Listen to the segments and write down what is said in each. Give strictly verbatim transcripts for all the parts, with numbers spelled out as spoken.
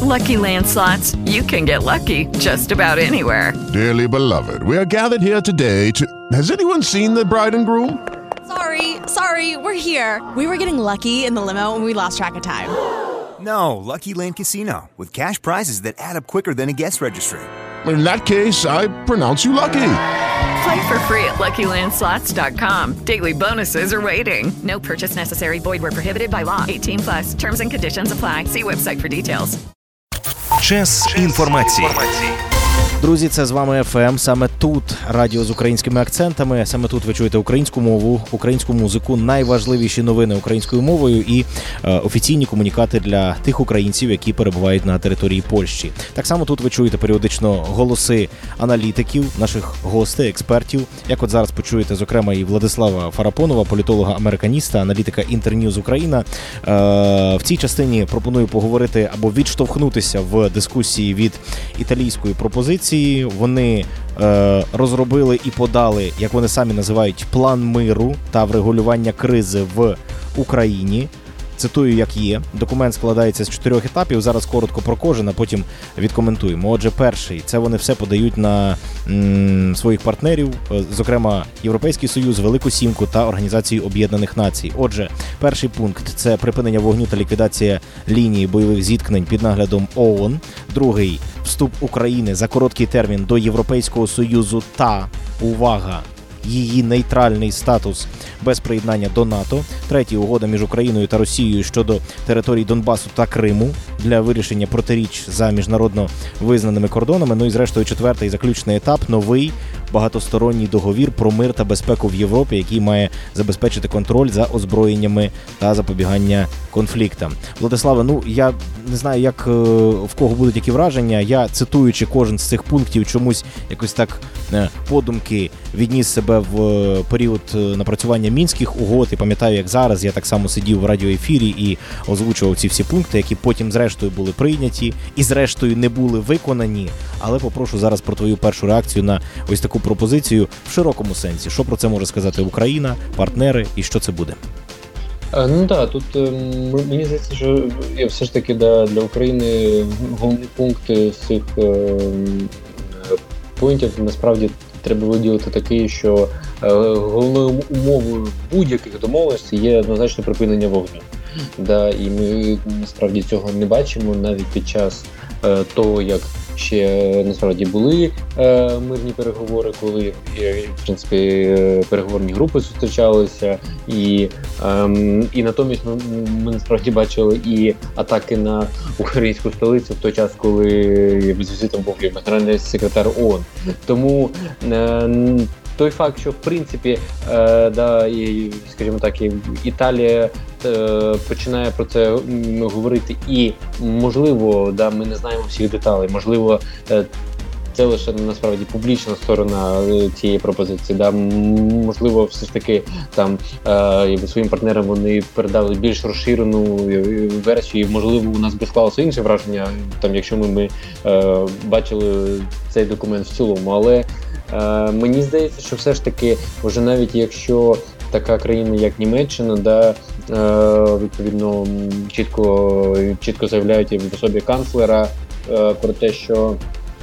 Lucky Land Slots, you can get lucky just about anywhere. Dearly beloved, we are gathered here today to... Has anyone seen the bride and groom? Sorry, sorry, we're here. We were getting lucky in the limo and we lost track of time. No, Lucky Land Casino, with cash prizes that add up quicker than a guest registry. In that case, I pronounce you lucky. Play for free at lucky land slots dot com. Daily bonuses are waiting. No purchase necessary. Void where prohibited by law. eighteen plus. Terms and conditions apply. See website for details. Час інформації. Друзі, це з вами еф ем. Саме тут радіо з українськими акцентами. Саме тут ви чуєте українську мову, українську музику, найважливіші новини українською мовою і е, офіційні комунікати для тих українців, які перебувають на території Польщі. Так само тут ви чуєте періодично голоси аналітиків, наших гостей, експертів. Як от зараз почуєте, зокрема, і Владислава Фарапонова, політолога-американіста, аналітика Інтерньюз Україна. Е, в цій частині пропоную поговорити або відштовхнутися в дискусії від італійської пропозиції. Вони е, розробили і подали, як вони самі називають, план миру та врегулювання кризи в Україні. Цитую, як є. Документ складається з чотирьох етапів. Зараз коротко про кожен, а потім відкоментуємо. Отже, перший – це вони все подають на м, своїх партнерів, зокрема Європейський Союз, Велику Сімку та Організацію Об'єднаних Націй. Отже, перший пункт – це припинення вогню та ліквідація лінії бойових зіткнень під наглядом ООН. Другий – вступ України за короткий термін до Європейського Союзу та, увага, її нейтральний статус без приєднання до НАТО. Третій – угода між Україною та Росією щодо територій Донбасу та Криму для вирішення протиріч за міжнародно визнаними кордонами. Ну і зрештою четвертий заключний етап – новий багатосторонній договір про мир та безпеку в Європі, який має забезпечити контроль за озброєннями та запобігання конфліктам. Владиславе, ну я не знаю, як в кого будуть які враження. Я, цитуючи кожен з цих пунктів, чомусь якось так подумки відніс себе в період напрацювання мінських угод. І пам'ятаю, як зараз я так само сидів в радіоефірі і озвучував ці всі пункти, які потім зрештою були прийняті і зрештою не були виконані. Але попрошу зараз про твою першу реакцію на ось таку пропозицію в широкому сенсі. Що про це може сказати Україна, партнери і що це буде? Ну так, тут мені здається, що все ж таки да, для України головний пункт з цих пунктів насправді треба виділити такий, що головною умовою будь-яких домовленостей є однозначно припинення вогню. Да, і ми насправді цього не бачимо навіть під час е, того, як ще насправді були е, мирні переговори, коли е, в принципі е, переговорні групи зустрічалися, і, е, і натомість ми, ми насправді бачили і атаки на українську столицю в той час, коли з візитом був генеральний секретар ООН. Тому е, той факт, що в принципі, е, да, і, скажімо так, і Італія е, починає про це говорити, і можливо, да, ми не знаємо всіх деталей, можливо, е, це лише насправді публічна сторона цієї пропозиції. Да, можливо, все ж таки там е, своїм партнерам вони передали більш розширену версію. Можливо, у нас би склалося інше враження, там, якщо ми, ми е, бачили цей документ в цілому, але Е, мені здається, що все ж таки, вже навіть якщо така країна, як Німеччина, да, е, відповідно, чітко, чітко заявляють в особі канцлера е, про те, що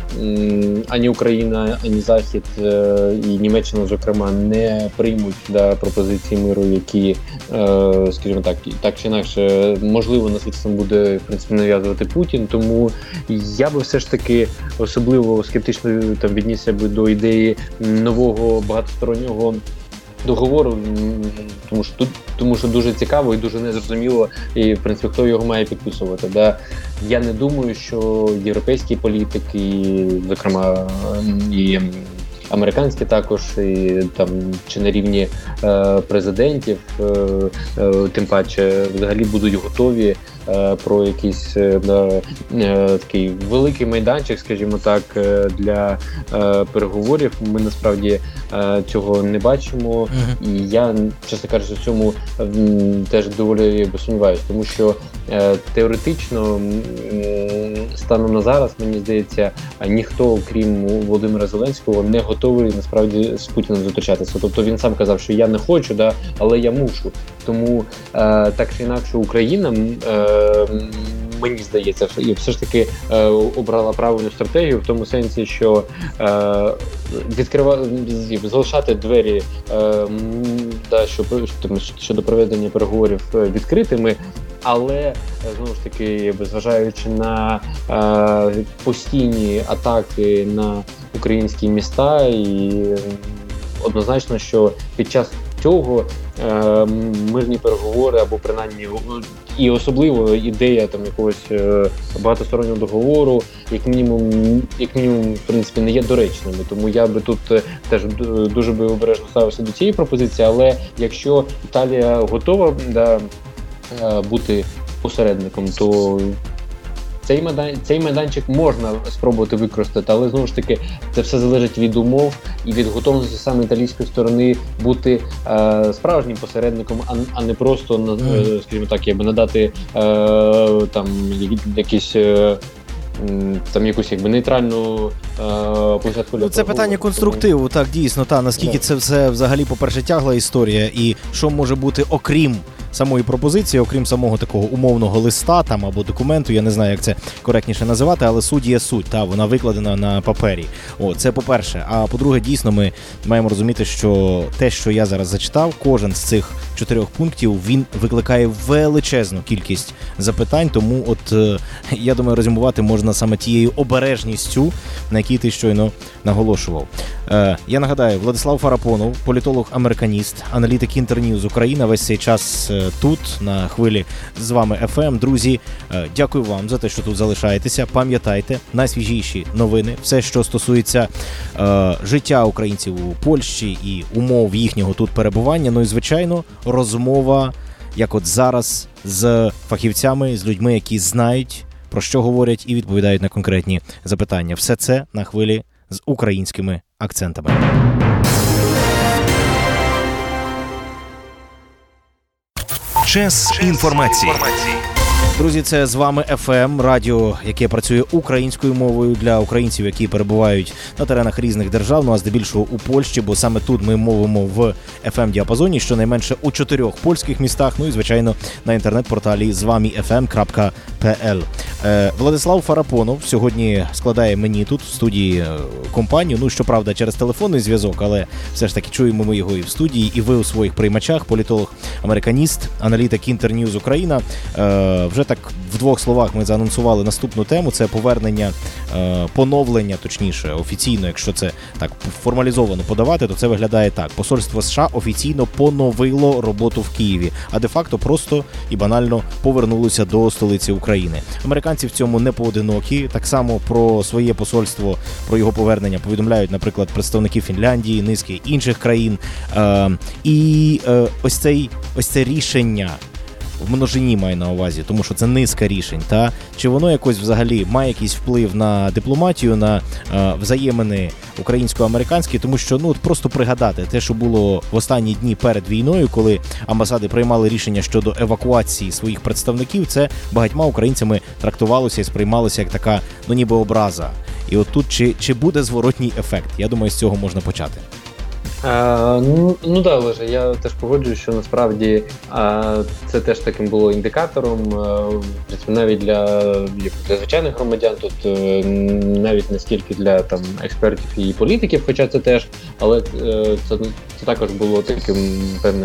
м, ані Україна, ані Захід е, і Німеччина, зокрема, не приймуть да, пропозиції миру, які, е, скажімо так, так чи інакше, можливо, насильством буде, в принципі, нав'язувати Путін. Тому я би все ж таки особливо скептично там віднісся би до ідеї нового багатостороннього договору, тому що тут, тому що дуже цікаво і дуже незрозуміло, і в принципі хто його має підписувати. Да? Я не думаю, що європейські політики, зокрема і американські також, і там чи на рівні е, президентів, е, е, тим паче взагалі будуть готові е, про якийсь е, да, е, такий великий майданчик, скажімо так, е, для е, переговорів. Ми насправді е, цього не бачимо, mm-hmm. і я, чесно кажучи, в цьому е, теж доволі сумніваюся, тому що е, теоретично е, станом на зараз, мені здається, ніхто, крім Володимира Зеленського, не готовий насправді з Путіним зустрічатися. Тобто він сам казав, що я не хочу, да, але я мушу. Тому е, так чи інакше Україна е, мені здається, і все ж таки е, обрала правильну стратегію в тому сенсі, що е, відкривати, залишати двері е, да, що, щодо проведення переговорів відкритими, але знову ж таки, зважаючи на е, постійні атаки на українські міста, і однозначно, що під час цього е, мирні переговори або принаймні і особливо ідея там якогось е, багатостороннього договору, як мінімум, як мінімум, в принципі, не є доречними. Тому я би тут теж дуже би обережно ставився до цієї пропозиції, але якщо Італія готова да, бути посередником, то Цей, майдан, цей майданчик можна спробувати використати, але знову ж таки це все залежить від умов і від готовності саме італійської сторони бути е, справжнім посередником, а, а не просто, mm. скажімо так, якби надати е, там якісь е, там якусь якби нейтральну площадку. Ну, це питання конструктиву, так, дійсно, та наскільки yeah. це все взагалі, по-перше, тягла історія, і що може бути окрім самої пропозиції, окрім самого такого умовного листа там або документу, я не знаю, як це коректніше називати, але суть є суть, та вона викладена на папері. О, це по-перше. А по-друге, дійсно, ми маємо розуміти, що те, що я зараз зачитав, кожен з цих чотирьох пунктів, він викликає величезну кількість запитань, тому от я думаю, резюмувати можна саме тією обережністю, на якій ти щойно наголошував. Е, я нагадаю, Владислав Фарапонов, політолог-американіст, аналітик Інтерньюз Україна, весь цей час тут, на хвилі з вами еф ем. Друзі, дякую вам за те, що тут залишаєтеся. Пам'ятайте, найсвіжіші новини, все, що стосується е, життя українців у Польщі і умов їхнього тут перебування. Ну і, звичайно, розмова, як от зараз, з фахівцями, з людьми, які знають, про що говорять і відповідають на конкретні запитання. Все це на хвилі з українськими акцентами. Час інформації. Друзі, це з вами еф ем, радіо, яке працює українською мовою для українців, які перебувають на теренах різних держав, ну а здебільшого у Польщі, бо саме тут ми мовимо в еф ем-діапазоні, щонайменше у чотирьох польських містах, ну і, звичайно, на інтернет-порталі з вами еф ем крапка пі ел. Е, Владислав Фарапонов сьогодні складає мені тут в студії компанію, ну, щоправда, через телефонний зв'язок, але все ж таки чуємо ми його і в студії, і ви у своїх приймачах, політолог-американіст, аналітик Інтерньюз Україна. Е, вже так в двох словах ми заанонсували наступну тему, це повернення, е, поновлення, точніше, офіційно, якщо це так формалізовано подавати, то це виглядає так. Посольство США офіційно поновило роботу в Києві, а де-факто просто і банально повернулося до столиці України. Американці в цьому не поодинокі, так само про своє посольство, про його повернення повідомляють, наприклад, представники Фінляндії, низки інших країн. Е, і е, ось, цей, ось це рішення, в множині маю на увазі, тому що це низка рішень, та чи воно якось взагалі має якийсь вплив на дипломатію, на е, взаємини українсько-американські, тому що, ну, от просто пригадати те, що було в останні дні перед війною, коли амбасади приймали рішення щодо евакуації своїх представників, це багатьма українцями трактувалося і сприймалося як така, ну, ніби образа. І от тут чи, чи буде зворотній ефект? Я думаю, з цього можна почати. А, ну, ну да, Олеже, я теж погоджуюсь, що насправді а, це теж таким було індикатором, а, навіть для, для звичайних громадян, тут навіть не стільки для там експертів і політиків, хоча це теж, але це, це також було таким певним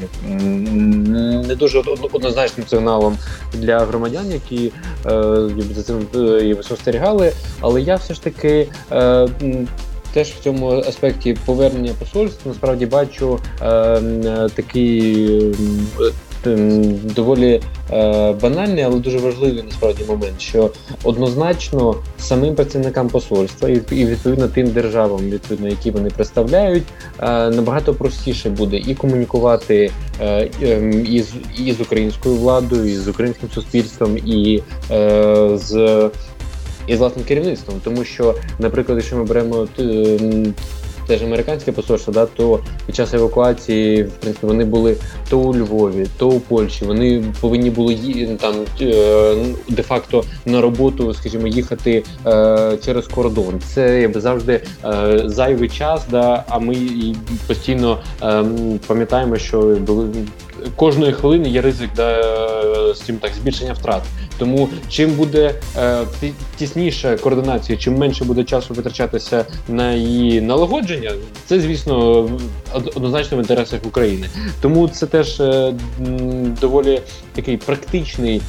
не дуже однозначним сигналом для громадян, які за цим спостерігали, але я все ж таки теж в цьому аспекті повернення посольств насправді бачу е, такий е, доволі е, банальний, але дуже важливий насправді момент, що однозначно самим працівникам посольства і, і відповідно тим державам, відповідно, які вони представляють, е, набагато простіше буде і комунікувати е, е, і, з, і з українською владою, і з українським суспільством, і е, з і з власним керівництвом, тому що, наприклад, якщо ми беремо теж американське посольство, да, то під час евакуації, в принципі, вони були то у Львові, то у Польщі, вони повинні були там де-факто на роботу, скажімо, їхати е, через кордон. Це якби завжди е, зайвий час, да, а ми постійно е, пам'ятаємо, що були кожної хвилини є ризик, да, з цим так збільшення втрат. Тому чим буде е, тісніша координація, чим менше буде часу витрачатися на її налагодження, це, звісно, однозначно в інтересах України. Тому це теж е, доволі такий практичний,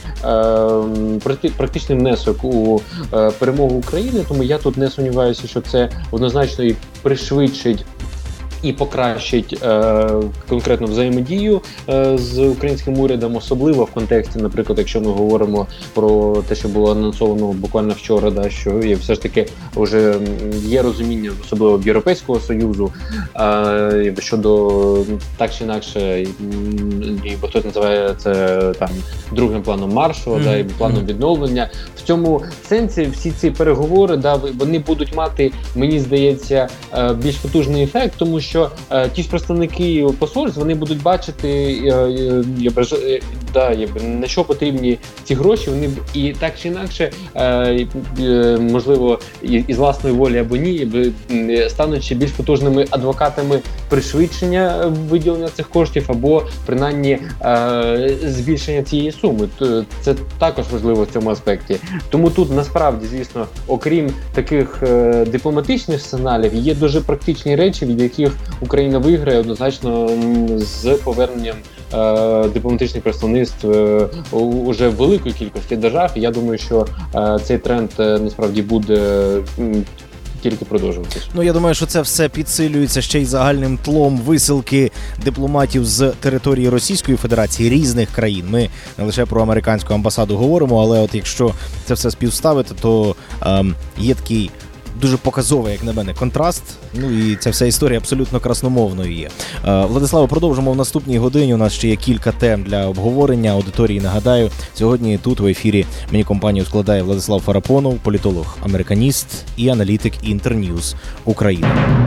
е, практичний внесок у е, перемогу України, тому я тут не сумніваюся, що це однозначно і пришвидшить і покращить е, конкретну взаємодію е, з українським урядом, особливо в контексті, наприклад, якщо ми говоримо про те, що було анонсовано буквально вчора, да, що є все ж таки вже є розуміння, особливо в Європейського Союзу, е, щодо так чи інакше, і хтось називає це там другим планом Маршалла, mm-hmm. да, і планом відновлення. В цьому сенсі всі ці переговори, да, вони будуть мати, мені здається, е, більш потужний ефект, тому що що е, ті ж представники посольств, вони будуть бачити, е, е, е, да, е, на що потрібні ці гроші, вони і так чи інакше, е, е, можливо, і, і з власної волі або ні, е, стануть ще більш потужними адвокатами пришвидшення виділення цих коштів або, принаймні, е, збільшення цієї суми. Це також важливо в цьому аспекті. Тому тут, насправді, звісно, окрім таких е, дипломатичних сценаріїв, є дуже практичні речі, від яких Україна виграє однозначно з поверненням е, дипломатичних представництв е, уже в великої кількості держав. І я думаю, що е, цей тренд е, насправді буде е, тільки продовжуватися. Ну, я думаю, що це все підсилюється ще й загальним тлом висилки дипломатів з території Російської Федерації різних країн. Ми не лише про американську амбасаду говоримо, але от якщо це все співставити, то ем, є такий дуже показовий, як на мене, контраст. Ну і ця вся історія абсолютно красномовною є. Е, Владиславе, продовжимо в наступній годині. У нас ще є кілька тем для обговорення. Аудиторії, нагадаю, сьогодні тут в ефірі мені компанію складає Владислав Фарапонов, політолог, американіст і аналітик Інтерньюз України.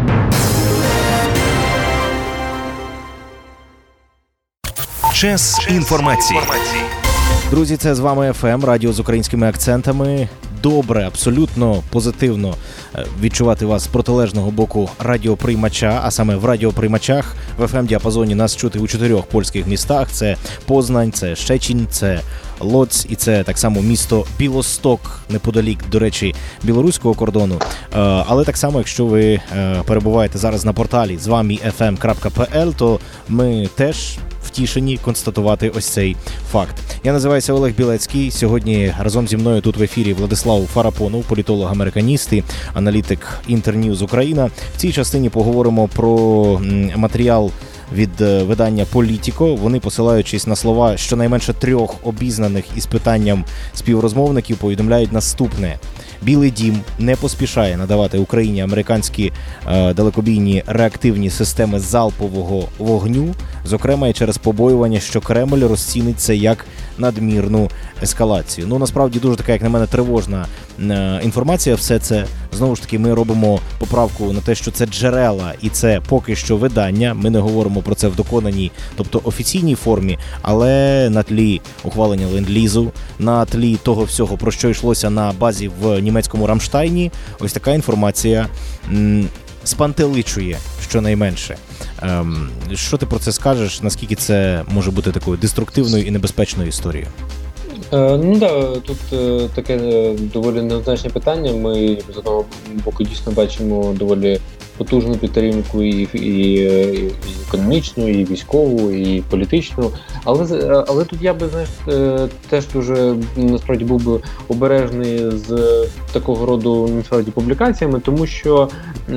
Час інформації. Друзі, це з вами еф ем, радіо з українськими акцентами. Добре, абсолютно позитивно відчувати вас з протилежного боку радіоприймача, а саме в радіоприймачах в еф ем-діапазоні нас чути у чотирьох польських містах. Це Познань, це Щецін, це Лоць і це так само місто Білосток, неподалік, до речі, білоруського кордону. Але так само, якщо ви перебуваєте зараз на порталі з вами еф ем крапка пе ел, то ми теж втішені констатувати ось цей факт. Я називаюся Олег Білецький. Сьогодні разом зі мною тут в ефірі Владислав Фарапонов, політолог-американіст і аналітик Інтерньюз Україна. В цій частині поговоримо про матеріал від видання «Політіко». Вони, посилаючись на слова щонайменше трьох обізнаних із питанням співрозмовників, повідомляють наступне. Білий дім не поспішає надавати Україні американські е, далекобійні реактивні системи залпового вогню, зокрема і через побоювання, що Кремль розцінить це як надмірну ескалацію. Ну, насправді, дуже така, як на мене, тривожна е, інформація. Все це, знову ж таки, ми робимо поправку на те, що це джерела і це поки що видання. Ми не говоримо про це в доконаній, тобто офіційній формі, але на тлі ухвалення ленд-лізу, на тлі того всього, про що йшлося на базі в німецькому Рамштайні, ось така інформація м, спантеличує, щонайменше. Ем, що ти про це скажеш? Наскільки це може бути такою деструктивною і небезпечною історією? Е, ну так, да, тут е, таке е, доволі неоднозначне питання. Ми з одного боку дійсно бачимо доволі потужну підтримку і, і, і економічну, і військову, і політичну. Але, але тут я би, знаєш, теж дуже насправді був би обережний з такого роду насправді публікаціями, тому що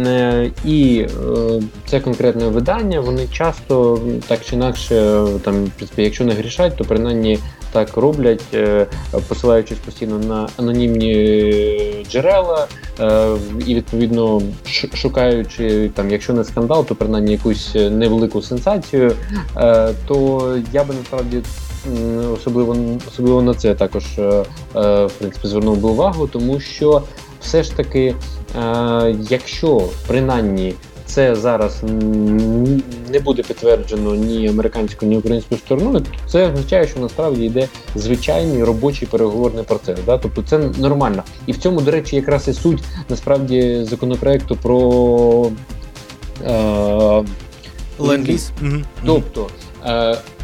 і це конкретне видання, вони часто так чи інакше, там, в принципі, якщо не грішать, то принаймні так роблять, посилаючись постійно на анонімні джерела і, відповідно, шукаючи, там, якщо не скандал, то принаймні якусь невелику сенсацію, то я би насправді особливо, особливо на це також, в принципі, звернув би увагу, тому що все ж таки, якщо принаймні це зараз не буде підтверджено ні американською, ні українською стороною, то це означає, що насправді йде звичайний робочий переговорний процес. Да? Тобто це нормально. І в цьому, до речі, якраз і суть насправді законопроекту про е- ленд-ліз. Тобто, е-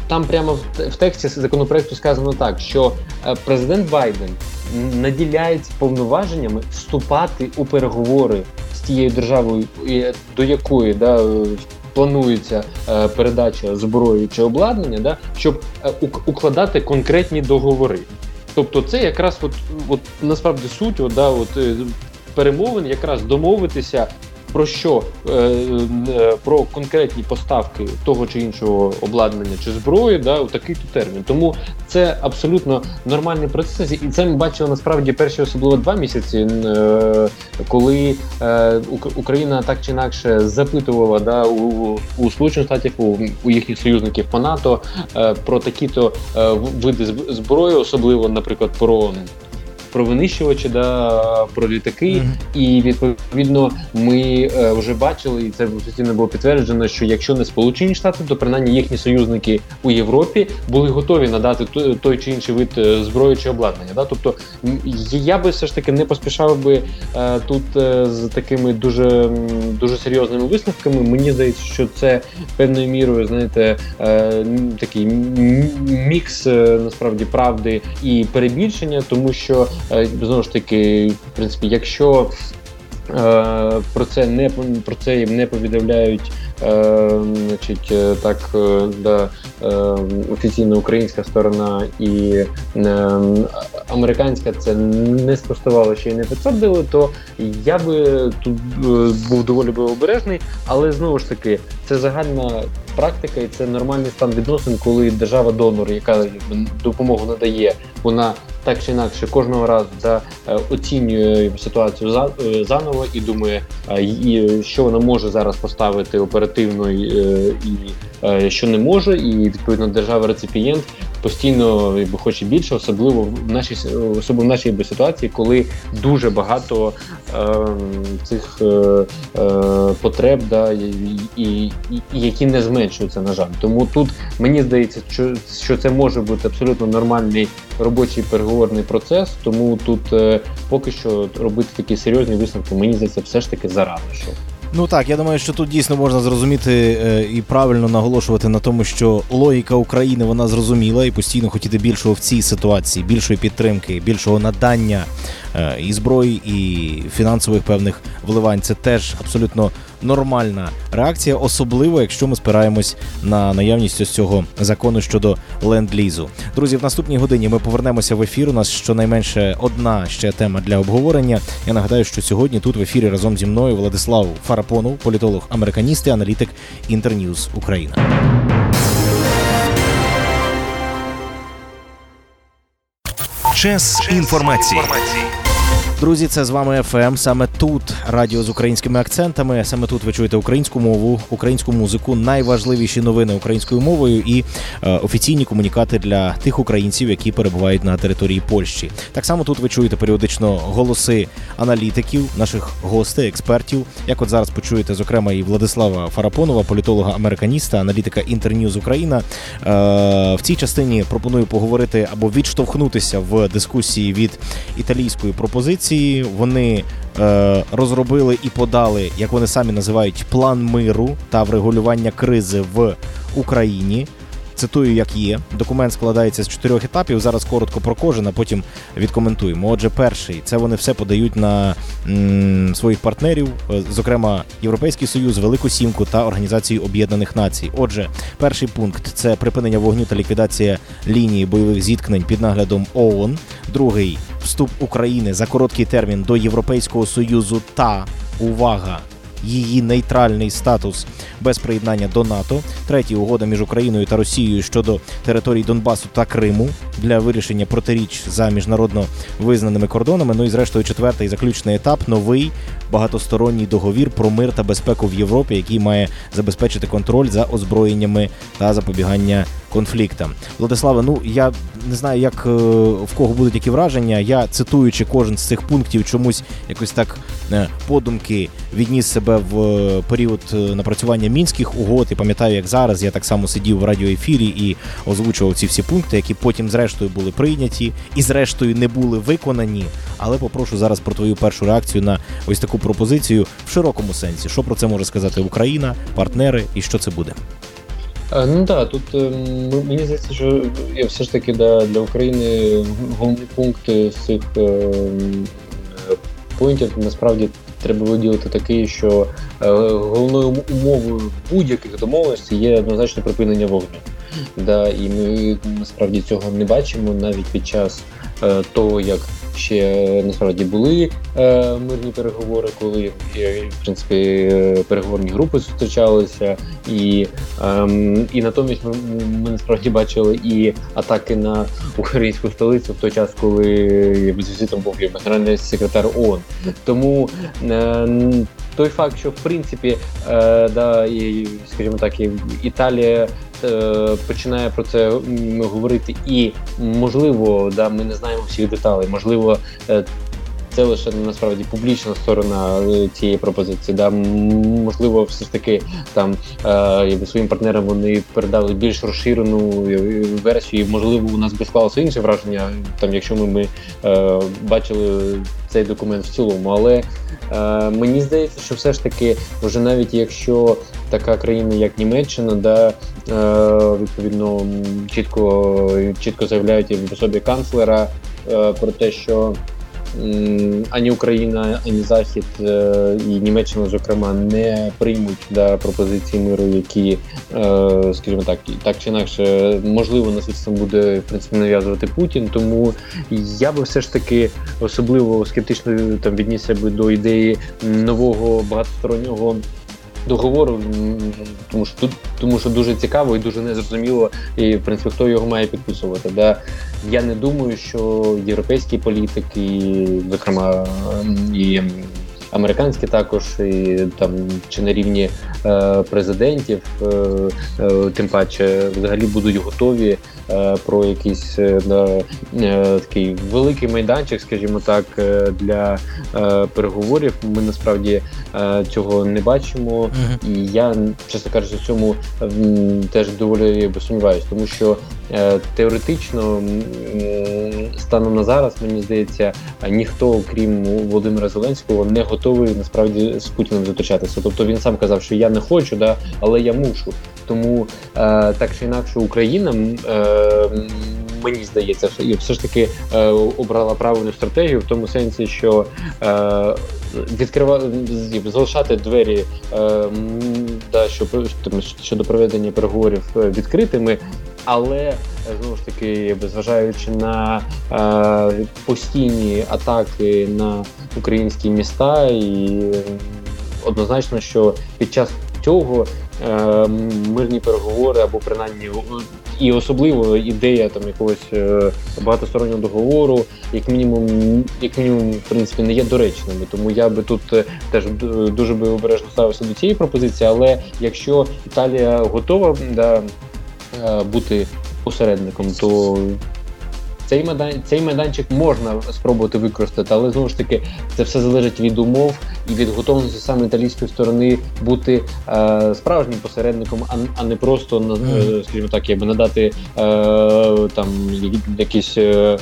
там прямо в, в тексті законопроекту сказано так, що е, президент Байден наділяється повноваженнями вступати у переговори з тією державою, до якої да, планується е, передача зброї чи обладнання, да, щоб е, укладати конкретні договори. Тобто це якраз от, от, насправді суть от, да, от, перемовин, якраз домовитися про що? Е, е, про конкретні поставки того чи іншого обладнання чи зброї, да, у такий-то термін. Тому це абсолютно нормальний процес, і це ми бачили насправді перші особливо два місяці, е, коли е, Україна так чи інакше запитувала да, у, у Сполучених Штатів, у, у їхніх союзників по НАТО е, про такі-то е, види зброї, особливо, наприклад, про про винищувачі, да, про літаки, mm-hmm. і відповідно ми е, вже бачили, і це офіційно було підтверджено, що якщо не Сполучені Штати, то принаймні їхні союзники у Європі були готові надати той, той чи інший вид зброї чи обладнання. Да? Тобто я би все ж таки не поспішав би е, тут е, з такими дуже, дуже серйозними висновками. Мені здається, що це певною мірою, знаєте, е, такий мікс е, насправді правди і перебільшення, тому що знову ж таки, в принципі, якщо е, про це не про це їм не повідомляють, е, значить, так, да, е, офіційна українська сторона і е, американська це не спростувало ще й не підтвердили, то я би тут був доволі би обережний, але знову ж таки, це загальна практика і це нормальний стан відносин, коли держава-донор, яка допомогу надає, вона так чи інакше кожного разу да, оцінює ситуацію за, заново і думає, і, що вона може зараз поставити оперативно і, і що не може, і відповідно держава-реципієнт постійно якби, хоче більше, особливо в нашій, особливо в нашій ситуації, коли дуже багато е, цих е, е, потреб, да, і, і, і, які не зменшуються, на жаль. Тому тут мені здається, що, що це може бути абсолютно нормальний робочий переговорний процес, тому тут е, поки що робити такі серйозні висновки, мені здається, все ж таки зарано. Що. Ну так, я думаю, що тут дійсно можна зрозуміти е, і правильно наголошувати на тому, що логіка України, вона зрозуміла, і постійно хотіти більшого в цій ситуації, більшої підтримки, більшого надання е, і зброї, і фінансових певних вливань. Це теж абсолютно нормальна реакція, особливо, якщо ми спираємось на наявність ось цього закону щодо ленд-лізу. Друзі, в наступній годині ми повернемося в ефір. У нас щонайменше одна ще тема для обговорення. Я нагадаю, що сьогодні тут в ефірі разом зі мною Владислав Фарапонов, політолог-американіст і аналітик Інтерньюз Україна. Час інформації. Друзі, це з вами еф ем. Саме тут радіо з українськими акцентами. Саме тут ви чуєте українську мову, українську музику, найважливіші новини українською мовою і е, офіційні комунікати для тих українців, які перебувають на території Польщі. Так само тут ви чуєте періодично голоси аналітиків, наших гостей, експертів. Як от зараз почуєте, зокрема, і Владислава Фарапонова, політолога-американіста, аналітика Інтерньюз Україна. Е, в цій частині пропоную поговорити або відштовхнутися в дискусії від італійської пропозиції. Вони е, розробили і подали, як вони самі називають, план миру та врегулювання кризи в Україні. Цитую, як є. Документ складається з чотирьох етапів. Зараз коротко про кожен, а потім відкоментуємо. Отже, перший – це вони все подають на м, своїх партнерів, зокрема Європейський Союз, Велику Сімку та Організацію Об'єднаних Націй. Отже, перший пункт – це припинення вогню та ліквідація лінії бойових зіткнень під наглядом ООН. Другий – вступ України за короткий термін до Європейського Союзу та, увага, її нейтральний статус без приєднання до НАТО. Третій – угода між Україною та Росією щодо територій Донбасу та Криму для вирішення протиріч за міжнародно визнаними кордонами. Ну і зрештою четвертий заключний етап – новий багатосторонній договір про мир та безпеку в Європі, який має забезпечити контроль за озброєннями та запобігання конфліктам. Владиславе, ну я не знаю, як в кого будуть які враження. Я, цитуючи кожен з цих пунктів, чомусь якось так подумки відніс себе в період напрацювання Мінських угод, і пам'ятаю, як зараз я так само сидів в радіоефірі і озвучував ці всі пункти, які потім зрештою були прийняті і зрештою не були виконані. Але попрошу зараз про твою першу реакцію на ось таку пропозицію в широкому сенсі. Що про це може сказати Україна, партнери і що це буде? Ну так, тут мені здається, що все ж таки да, для України головний пункт з цих поінтів насправді треба виділити такий, що головною умовою будь-яких домовленостей є однозначно припинення вогню. Да, і ми насправді цього не бачимо навіть під час е, того, як ще насправді були е, мирні переговори, коли е, в принципі переговорні групи зустрічалися, і, е, і натомість ми, ми насправді бачили і атаки на українську столицю в той час, коли з візитом був генеральний секретар ООН. Тому е, той факт, що в принципі, е, да, і, скажімо так, і Італія починає про це говорити, і можливо, да, ми не знаємо всіх деталей, можливо, це лише насправді публічна сторона цієї пропозиції. Да, можливо, все ж таки там е, своїм партнерам вони передали більш розширену версію. Можливо, у нас би склалося інше враження, там, якщо ми, ми е, бачили цей документ в цілому. Але е, мені здається, що все ж таки, вже навіть якщо така країна, як Німеччина, да, е, відповідно чітко, чітко заявляють в особі канцлера е, про те, що ані Україна, ані Захід і Німеччина, зокрема, не приймуть да, пропозиції миру, які, скажімо так, так чи інакше, можливо, насильством буде, в принципі, нав'язувати Путін. Тому я би все ж таки особливо скептично там віднісся би до ідеї нового багатостороннього договору, тому що тут, тому що дуже цікаво і дуже незрозуміло, і в принципі хто його має підписувати. Да? Я не думаю, що європейські політики, зокрема і американські також, і там чи на рівні е, президентів, е, е, тим паче взагалі будуть готові е, про якийсь е, е, такий великий майданчик, скажімо так, е, для е, переговорів. Ми насправді е, цього не бачимо, mm-hmm. і я, чесно кажучи, в цьому е, теж доволі сумніваюся, тому що е, теоретично е, станом на зараз, мені здається, ніхто, крім Володимира Зеленського, не готовий насправді з Путіним зустрічатися. Тобто він сам казав, що я не хочу, да, але я мушу. Тому е, так чи інакше Україна, е, мені здається, все ж таки е, обрала правильну стратегію в тому сенсі, що е, відкривати, залишати двері е, да, що, щодо проведення переговорів відкритими, але знову ж таки, зважаючи на е, постійні атаки на українські міста, і однозначно, що під час цього е, мирні переговори або принаймні і особливо ідея там якогось е, багатостороннього договору, як мінімум, як мінімум, в принципі, не є доречними. Тому я би тут теж дуже би обережно ставився до цієї пропозиції, але якщо Італія готова да, бути посередником, то цей майданчик, цей майданчик можна спробувати використати, але знову ж таки це все залежить від умов і від готовності саме італійської сторони бути е, справжнім посередником, а, а не просто, mm. скажімо так, якби надати е, там якісь е,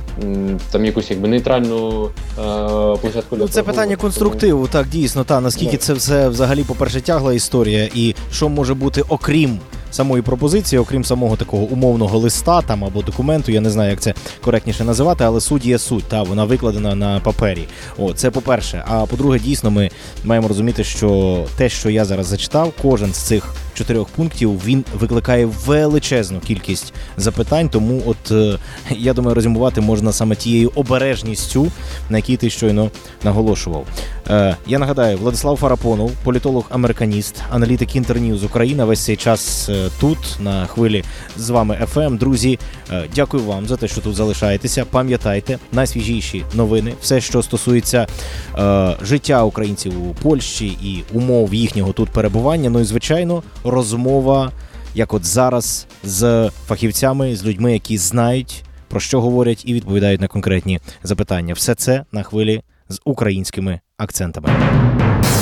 там якусь якби нейтральну е, площадку. Ну, це питання конструктиву, так, дійсно, та наскільки це все взагалі, по-перше, тягла історія, і що може бути окрім самої пропозиції, окрім самого такого умовного листа там або документу, я не знаю, як це коректніше називати, але суть є суть, та вона викладена на папері. О, це по-перше. А по-друге, дійсно, ми маємо розуміти, що те, що я зараз зачитав, кожен з цих чотирьох пунктів, він викликає величезну кількість запитань, тому от, я думаю, резюмувати можна саме тією обережністю, на якій ти щойно наголошував. Е, я нагадаю, Владислав Фарапонов, політолог-американіст, аналітик Інтерньюз Україна, весь цей час тут, на хвилі з вами еф ем. Друзі, е, дякую вам за те, що тут залишаєтеся. Пам'ятайте, найсвіжіші новини, все, що стосується е, життя українців у Польщі і умов їхнього тут перебування, ну і, звичайно, розмова, як от зараз, з фахівцями, з людьми, які знають, про що говорять і відповідають на конкретні запитання. Все це на хвилі з українськими акцентами.